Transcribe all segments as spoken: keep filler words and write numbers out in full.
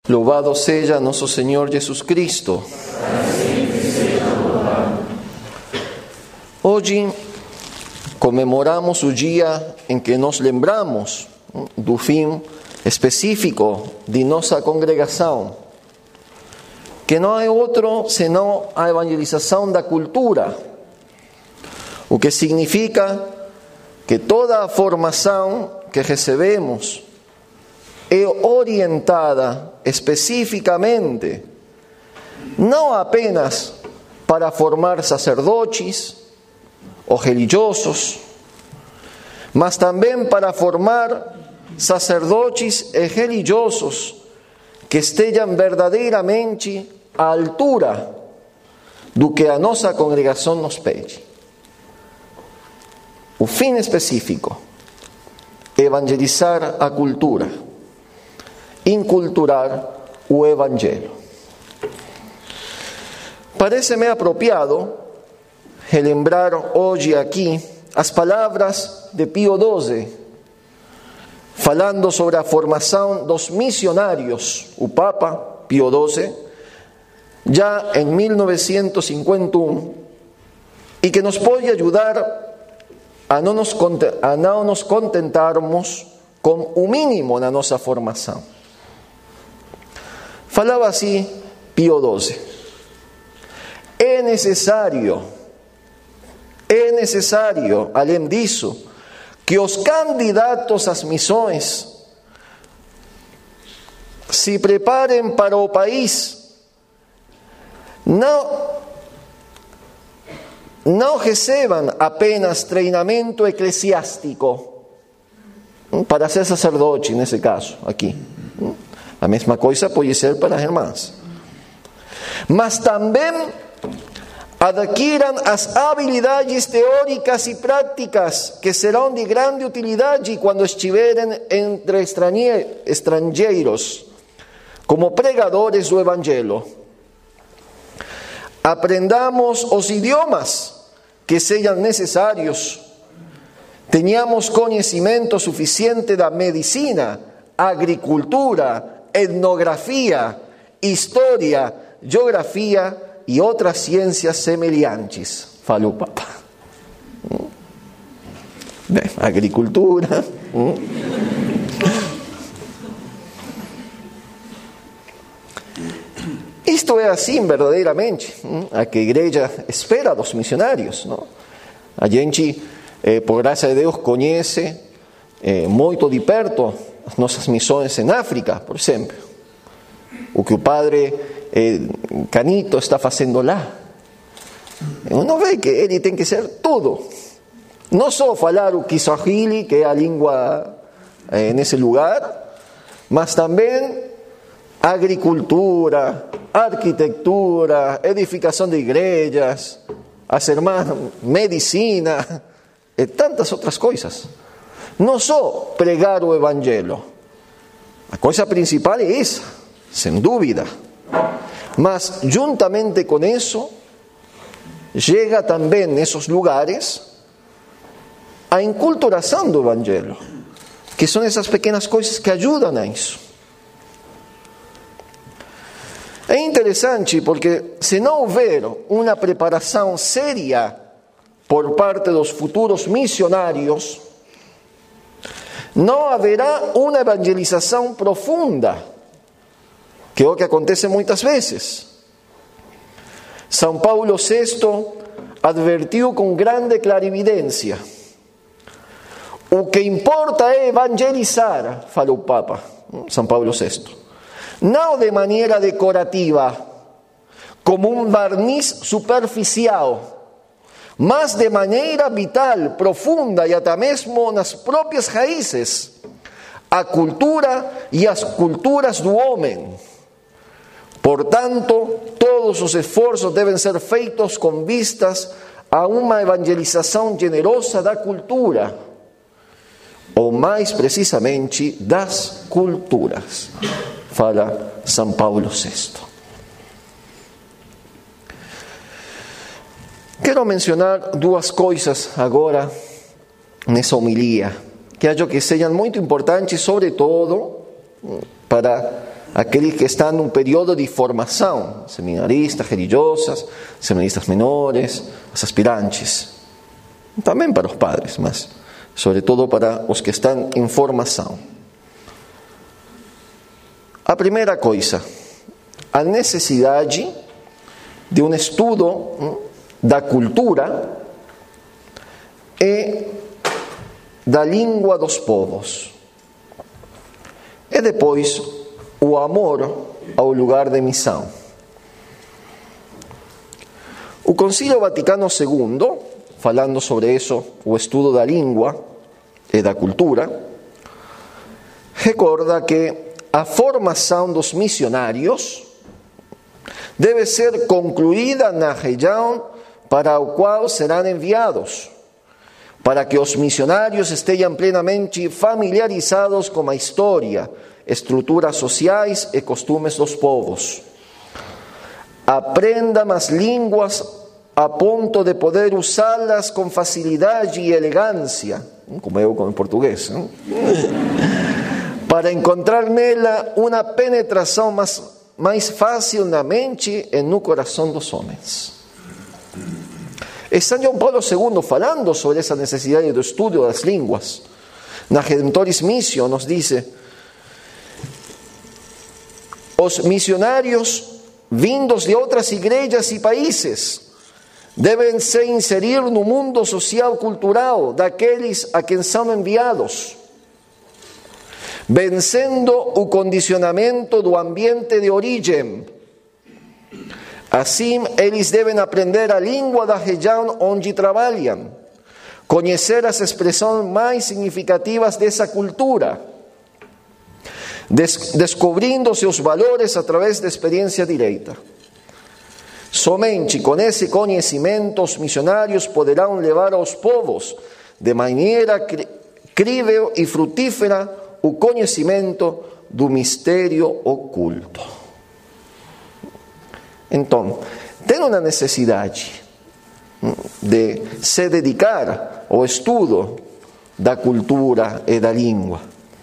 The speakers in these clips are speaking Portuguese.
Louvado seja nosso Senhor Jesus Cristo. Hoje comemoramos o dia em que nos lembramos do fim específico de nossa congregação, que não é outro senão a evangelização da cultura, o que significa que toda a formação que recebemos é orientada especificamente não apenas para formar sacerdotes ou religiosos, mas também para formar sacerdotes e religiosos que estejam verdadeiramente à altura do que a nossa congregação nos pede. O fim específico: evangelizar a cultura, inculturar o Evangelho. Parece-me apropriado relembrar hoje aqui as palavras de Pio doze, falando sobre a formação dos missionários, o Papa Pio doze, já em mil novecentos e cinquenta e um, e que nos pode ajudar a não nos, a não nos contentarmos com o mínimo na nossa formação. Falava assim Pio doze: é necessário, é necessário, além disso, que os candidatos às missões se preparem para o país, não, não recebam apenas treinamento eclesiástico para ser sacerdote, nesse caso aqui. A mesma coisa pode ser para as irmãs. Mas também adquiram as habilidades teóricas e práticas que serão de grande utilidade quando estiverem entre estrangeiros, como pregadores do Evangelho. Aprendamos os idiomas que sejam necessários. Tenhamos conhecimento suficiente da medicina, agricultura, etnografia, história, geografia e outras ciências semelhantes, falou o Papa. Bem, agricultura. Isto é assim verdadeiramente, a que a igreja espera dos missionários, não? A gente, eh, por graça de Deus, conhece eh, muito de perto as nossas missões em África, por exemplo. O que o padre eh, Canito está fazendo lá. Uno vê que ele tem que ser tudo. Não só falar o Kiswahili, que é a língua eh, nesse lugar, mas também agricultura, arquitetura, edificação de igrejas, as irmãs, medicina e tantas outras coisas. Não só pregar o Evangelho. A coisa principal é essa, sem dúvida. Mas, juntamente com isso, chega também nesses lugares a inculturação do Evangelho, que são essas pequenas coisas que ajudam a isso. É interessante porque, se não houver uma preparação séria por parte dos futuros missionários, não haverá uma evangelização profunda, que é o que acontece muitas vezes. São Paulo sexto advertiu com grande clarividência: o que importa é evangelizar, falou o Papa São Paulo sexto, não de maneira decorativa, como um barniz superficial, mas de maneira vital, profunda e até mesmo nas próprias raízes, a cultura e as culturas do homem. Portanto, todos os esforços devem ser feitos com vistas a uma evangelização generosa da cultura, ou mais precisamente das culturas, fala São Paulo sexto. Quero mencionar duas coisas agora nessa homilia, que acho que sejam muito importantes, sobretudo para aqueles que estão num período de formação, seminaristas, religiosas, seminaristas menores, os aspirantes. Também para os padres, mas sobretudo para os que estão em formação. A primeira coisa, a necessidade de um estudo da cultura e da língua dos povos. E depois, o amor ao lugar de missão. O Concílio Vaticano segundo, falando sobre isso, o estudo da língua e da cultura, recorda que a formação dos missionários deve ser concluída na região para a qual serão enviados, para que os missionários estejam plenamente familiarizados com a história, estruturas sociais e costumes dos povos. Aprendam as línguas a ponto de poder usá-las com facilidade e elegância, como eu com o português, não? Para encontrar nela uma penetração mais, mais fácil na mente e no coração dos homens. É São João Paulo segundo falando sobre essa necessidade do estudo das línguas. Na Redemptoris Missio nos diz: os missionários vindos de outras igrejas e países devem se inserir no mundo social cultural daqueles a quem são enviados, vencendo o condicionamento do ambiente de origem. Assim, eles devem aprender a língua da região onde trabalham, conhecer as expressões mais significativas dessa cultura, des- descobrindo seus valores através da experiência direta. Somente com esse conhecimento os missionários poderão levar aos povos, de maneira cr- crível e frutífera, o conhecimento do mistério oculto. Então, tem uma necessidade de se dedicar ao estudo da cultura e da língua.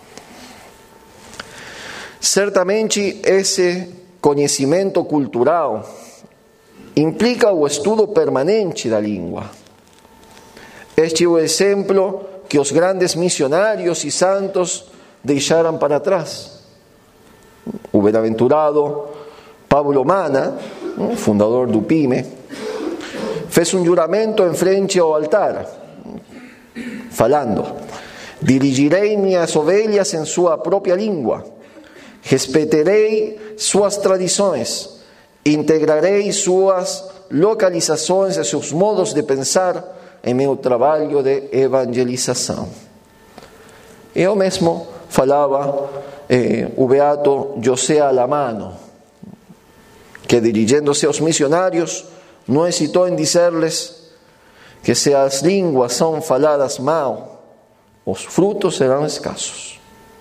Certamente, esse conhecimento cultural implica o estudo permanente da língua. Este é o exemplo que os grandes missionários e santos deixaram para trás. O bem-aventurado Pablo Mana, fundador do P I M E, fez um juramento em frente ao altar, falando: dirigirei minhas ovelhas em sua própria língua, respeitarei suas tradições, integrarei suas localizações e seus modos de pensar em meu trabalho de evangelização. Eu mesmo falava eh, o beato José Alamano, que dirigindo-se aos missionários, não hesitou em dizer-lhes que se as línguas são faladas mal, os frutos serão escassos.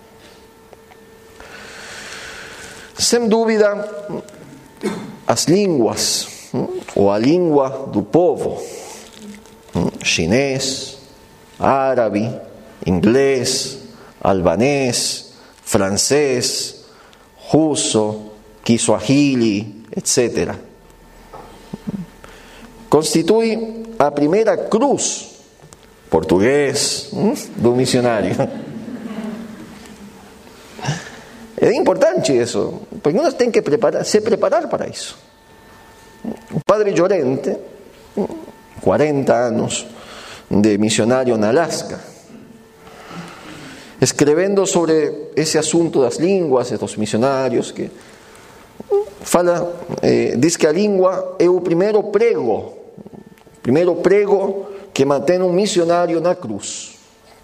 Sem dúvida, as línguas, ou a língua do povo, chinês, árabe, inglês, albanês, francês, russo, kiswahili, etcétera, constitui a primeira cruz, português, do missionário. É importante isso, porque nós temos que preparar, se preparar para isso. O padre Llorente, quarenta anos de missionário na Alaska, escrevendo sobre esse assunto das línguas e dos missionários, que fala, eh, diz que a língua é o primeiro prego, o primeiro prego que mantém um missionário na cruz.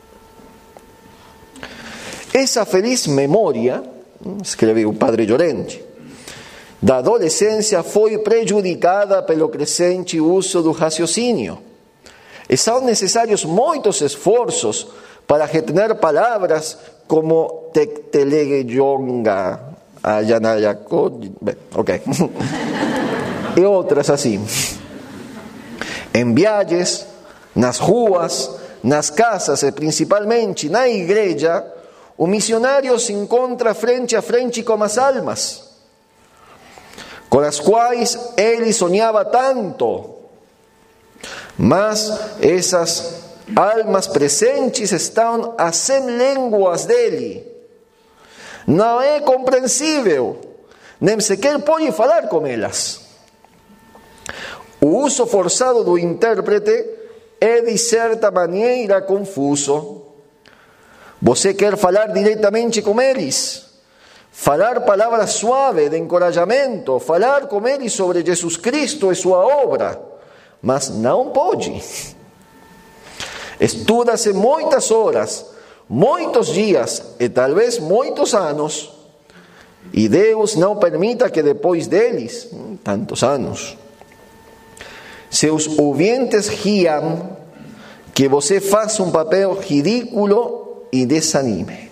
Essa feliz memória, escreveu o padre Llorente, da adolescência foi prejudicada pelo crescente uso do raciocínio. E são necessários muitos esforços para retener palavras como Tectelegueyonga, Ayanayacod, ok, e outras assim. Em viagens, nas ruas, nas casas e principalmente na igreja, o missionário se encontra frente a frente com as almas, com as quais ele sonhava tanto. Mas essas almas presentes estão a cem línguas dele. Não é compreensível, nem sequer pode falar com elas. O uso forçado do intérprete é, de certa maneira, confuso. Você quer falar diretamente com eles, falar palavras suaves de encorajamento, falar com eles sobre Jesus Cristo e sua obra, mas não pode. Estuda-se muitas horas, muitos dias e talvez muitos anos, e Deus não permita que depois deles, tantos anos, seus ouvintes riam, que você faça um papel ridículo e desanime.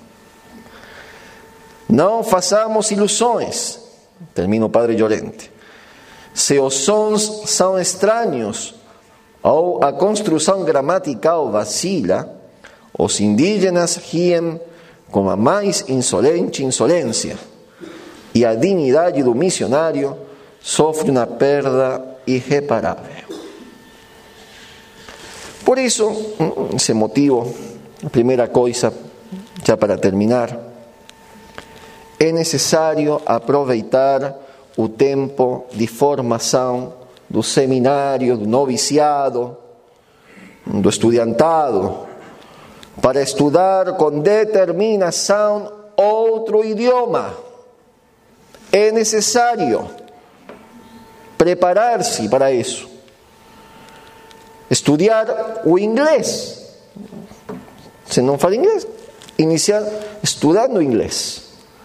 Não façamos ilusões. Termina o Padre Llorente. Se os sons são estranhos ou a construção gramatical vacila, os indígenas riem com a mais insolente insolência, e a dignidade do missionário sofre uma perda irreparável. Por isso, esse motivo, a primeira coisa, já para terminar, é necessário aproveitar o tempo de formação do seminário, do noviciado, do estudiantado, para estudar com determinação outro idioma. É necessário preparar-se para isso. Estudar o inglês. Se não fala inglês, iniciar estudando inglês,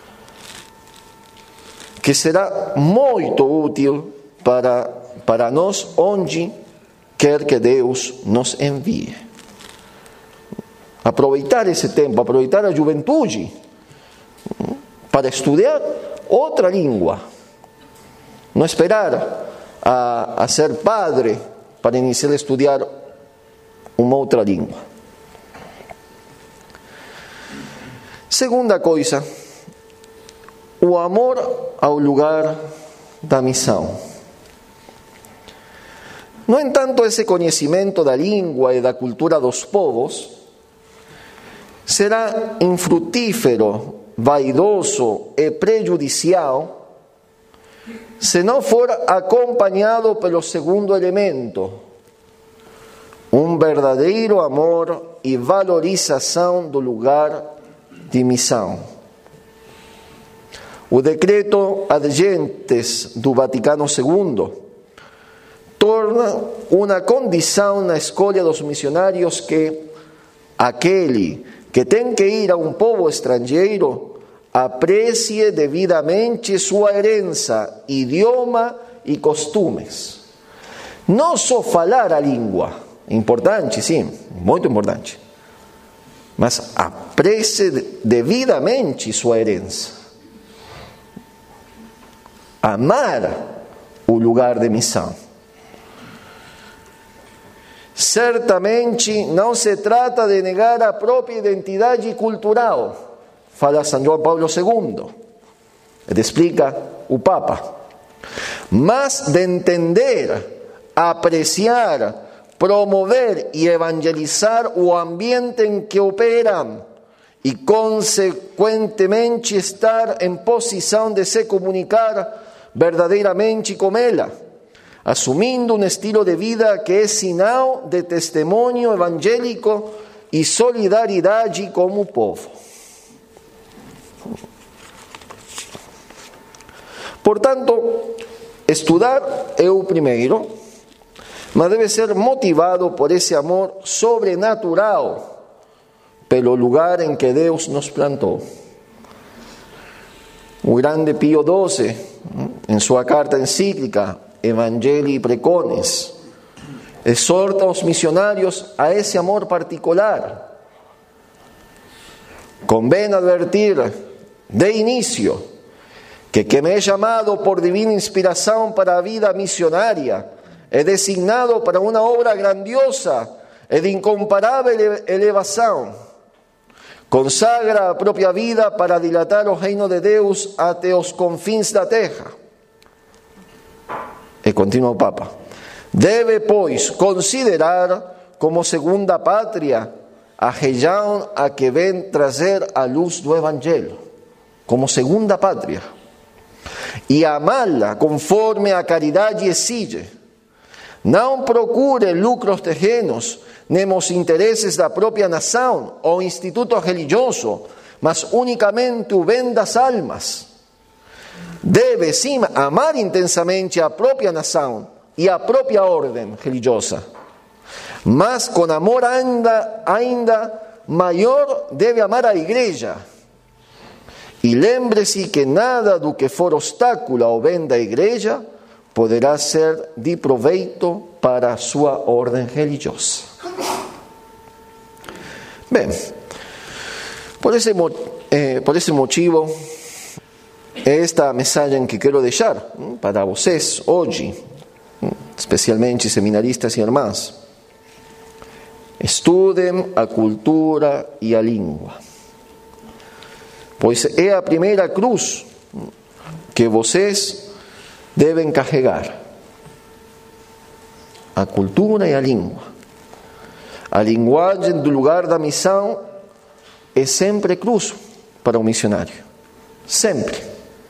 que será muito útil para, para nós onde quer que Deus nos envie. Aproveitar esse tempo, aproveitar a juventude para estudar outra língua. Não esperar a, a ser padre para iniciar a estudar uma outra língua. Segunda coisa, o amor ao lugar da missão. No entanto, esse conhecimento da língua e da cultura dos povos será infrutífero, vaidoso e prejudicial se não for acompanhado pelo segundo elemento, um verdadeiro amor e valorização do lugar de missão. O decreto Ad Gentes do Vaticano segundo torna uma condição na escolha dos missionários que aquele que tem que ir a um povo estrangeiro aprecie devidamente sua herança, idioma e costumes. Não só falar a língua, importante, sim, muito importante, mas aprecie devidamente sua herança. Amar o lugar de missão. Certamente não se trata de negar a própria identidade cultural, fala São João Paulo segundo, ele explica o Papa, mas de entender, apreciar, promover e evangelizar o ambiente em que operam e, consequentemente, estar em posição de se comunicar verdadeiramente com ela, assumindo um estilo de vida que é sinal de testemunho evangélico e solidariedade como povo. Portanto, estudar é o primeiro, mas deve ser motivado por esse amor sobrenatural pelo lugar em que Deus nos plantou. O grande Pio doze, em sua carta encíclica Evangelii Precones, exorta os missionários a esse amor particular. Convém advertir de início que quem é chamado por divina inspiração para a vida missionária é designado para uma obra grandiosa e de incomparável elevação, consagra a própria vida para dilatar o reino de Deus até os confins da terra. E continua o Papa. Deve, pois, considerar como segunda pátria a região a que vem trazer a luz do Evangelho, como segunda pátria, e amá-la conforme a caridade exige. Não procure lucros terrenos, nem os interesses da própria nação ou instituto religioso, mas unicamente o bem das almas. Deve, sim, amar intensamente a própria nação e a própria ordem religiosa, mas com amor ainda, ainda maior deve amar a igreja. E lembre-se que nada do que for obstáculo ao bem da igreja poderá ser de proveito para a sua ordem religiosa. Bem, por esse, eh, por esse motivo, é esta mensagem que quero deixar para vocês hoje, especialmente seminaristas e irmãs. Estudem a cultura e a língua, pois é a primeira cruz que vocês devem carregar. A cultura e a língua. A linguagem do lugar da missão é sempre cruz para o missionário. Sempre.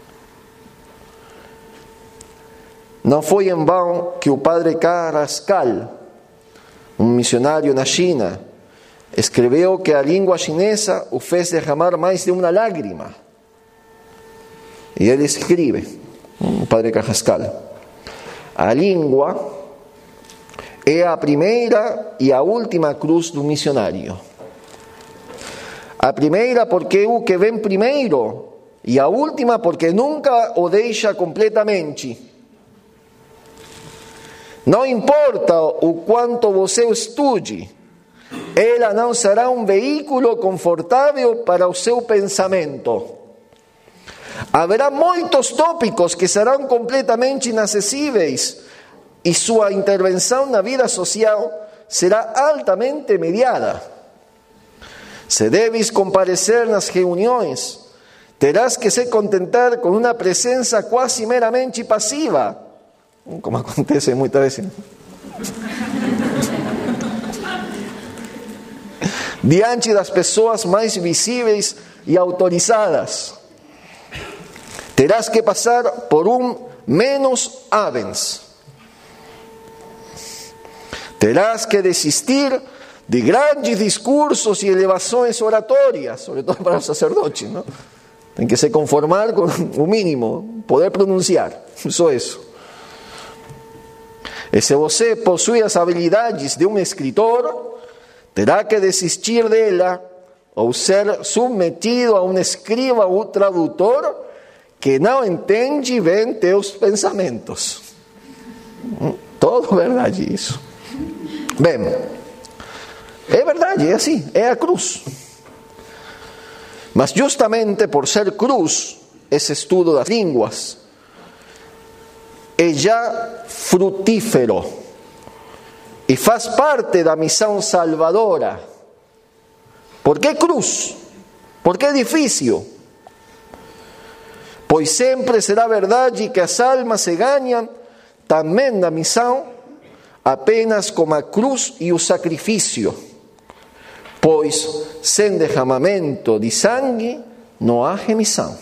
Não foi em vão que o padre Carrascal, um missionário na China, escreveu que a língua chinesa o fez derramar mais de uma lágrima. E ele escreve, o padre Carrascal, a língua é a primeira e a última cruz do missionário. A primeira porque é o que vem primeiro, e a última porque nunca o deixa completamente. Não importa o quanto você estude, ela não será um veículo confortável para o seu pensamento. Haverá muitos tópicos que serão completamente inacessíveis e sua intervenção na vida social será altamente mediada. Se deves comparecer nas reuniões, terás que se contentar com uma presença quase meramente passiva, como acontece muitas vezes. Diante das pessoas mais visíveis e autorizadas, terás que passar por um menos habens. Terás que desistir de grandes discursos e elevações oratórias, sobre todo para os sacerdotes, não? Tem que se conformar com o mínimo, poder pronunciar, só isso. E se você possui as habilidades de um escritor, terá que desistir dela ou ser submetido a um escriba ou tradutor que não entende bem teus pensamentos. Todo verdade isso. Bem, é verdade, é assim, é a cruz. Mas justamente por ser cruz, esse estudo das línguas é já frutífero e faz parte da missão salvadora. Por que cruz? Por que difícil? Pois sempre será verdade que as almas se ganham também na missão apenas com a cruz e o sacrifício, pois sem derramamento de sangue não há remissão.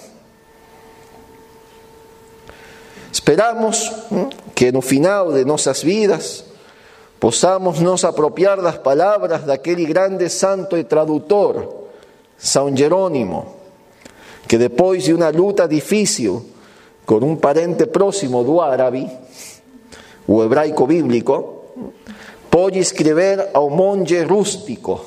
Esperamos que no final de nossas vidas possamos nos apropriar das palavras daquele grande santo e tradutor, São Jerônimo, que depois de uma luta difícil com um parente próximo do árabe, o hebraico bíblico, pode escrever ao monge rústico: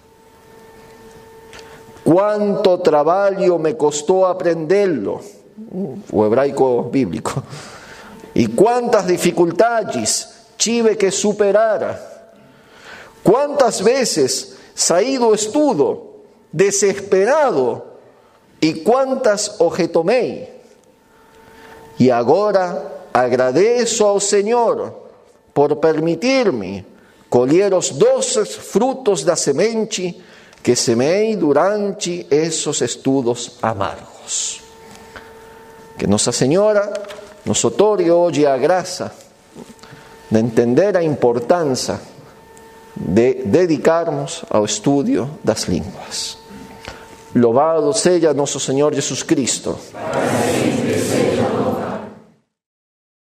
quanto trabalho me custou aprendê-lo, o hebraico bíblico, e quantas dificuldades tive que superar, quantas vezes saí do estudo desesperado e quantas o retomei. E agora agradeço ao Senhor por permitir-me colher os doces frutos da semente que semei durante esses estudos amargos. Que Nossa Senhora nos otorgue hoje a graça de entender a importância de dedicarmos ao estudio das línguas. Louvado seja nosso Senhor Jesus Cristo. Amém.